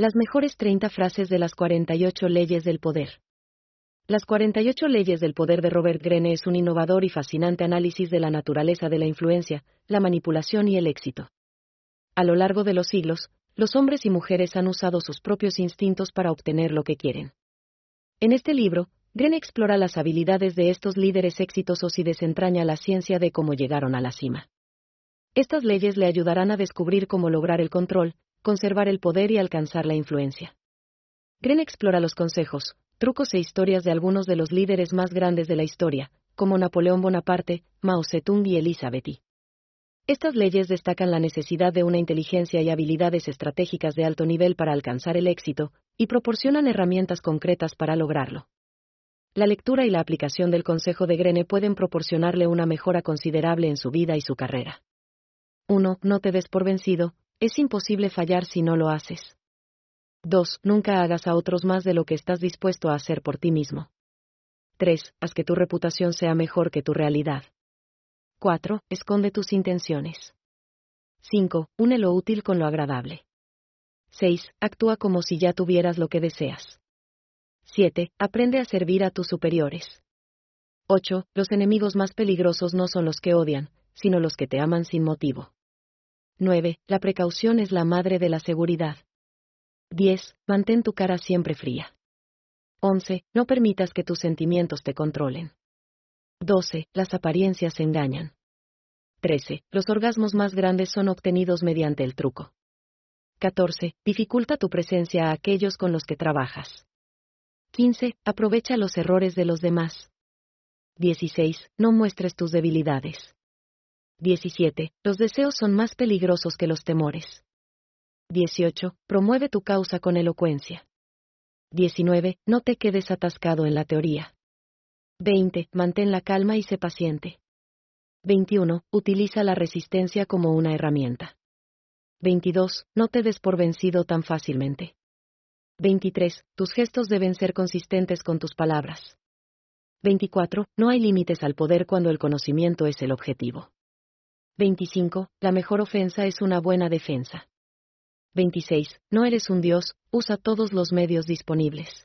Las mejores 30 frases de las 48 leyes del poder. Las 48 leyes del poder de Robert Greene es un innovador y fascinante análisis de la naturaleza de la influencia, la manipulación y el éxito. A lo largo de los siglos, los hombres y mujeres han usado sus propios instintos para obtener lo que quieren. En este libro, Greene explora las habilidades de estos líderes exitosos y desentraña la ciencia de cómo llegaron a la cima. Estas leyes le ayudarán a descubrir cómo lograr el control, conservar el poder y alcanzar la influencia. Greene explora los consejos, trucos e historias de algunos de los líderes más grandes de la historia, como Napoleón Bonaparte, Mao Zedong y Elizabeth I. Estas leyes destacan la necesidad de una inteligencia y habilidades estratégicas de alto nivel para alcanzar el éxito, y proporcionan herramientas concretas para lograrlo. La lectura y la aplicación del consejo de Greene pueden proporcionarle una mejora considerable en su vida y su carrera. 1. No te des por vencido. Es imposible fallar si no lo haces. 2. Nunca hagas a otros más de lo que estás dispuesto a hacer por ti mismo. 3. Haz que tu reputación sea mejor que tu realidad. 4. Esconde tus intenciones. 5. Une lo útil con lo agradable. 6. Actúa como si ya tuvieras lo que deseas. 7. Aprende a servir a tus superiores. 8. Los enemigos más peligrosos no son los que odian, sino los que te aman sin motivo. 9. La precaución es la madre de la seguridad. 10. Mantén tu cara siempre fría. 11. No permitas que tus sentimientos te controlen. 12. Las apariencias engañan. 13. Los orgasmos más grandes son obtenidos mediante el truco. 14. Dificulta tu presencia a aquellos con los que trabajas. 15. Aprovecha los errores de los demás. 16. No muestres tus debilidades. 17. Los deseos son más peligrosos que los temores. 18. Promueve tu causa con elocuencia. 19. No te quedes atascado en la teoría. 20. Mantén la calma y sé paciente. 21. Utiliza la resistencia como una herramienta. 22. No te des por vencido tan fácilmente. 23. Tus gestos deben ser consistentes con tus palabras. 24. No hay límites al poder cuando el conocimiento es el objetivo. 25. La mejor ofensa es una buena defensa. 26. No eres un dios, usa todos los medios disponibles.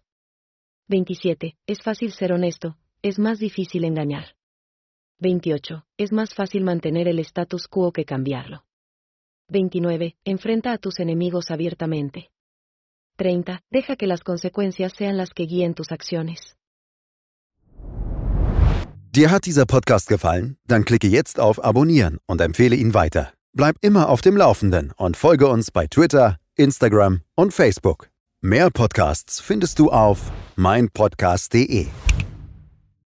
27. Es fácil ser honesto, es más difícil engañar. 28. Es más fácil mantener el status quo que cambiarlo. 29. Enfrenta a tus enemigos abiertamente. 30. Deja que las consecuencias sean las que guíen tus acciones. Dir hat dieser Podcast gefallen? Dann klicke jetzt auf Abonnieren und empfehle ihn weiter. Bleib immer auf dem Laufenden und folge uns bei Twitter, Instagram und Facebook. Mehr Podcasts findest du auf meinpodcast.de.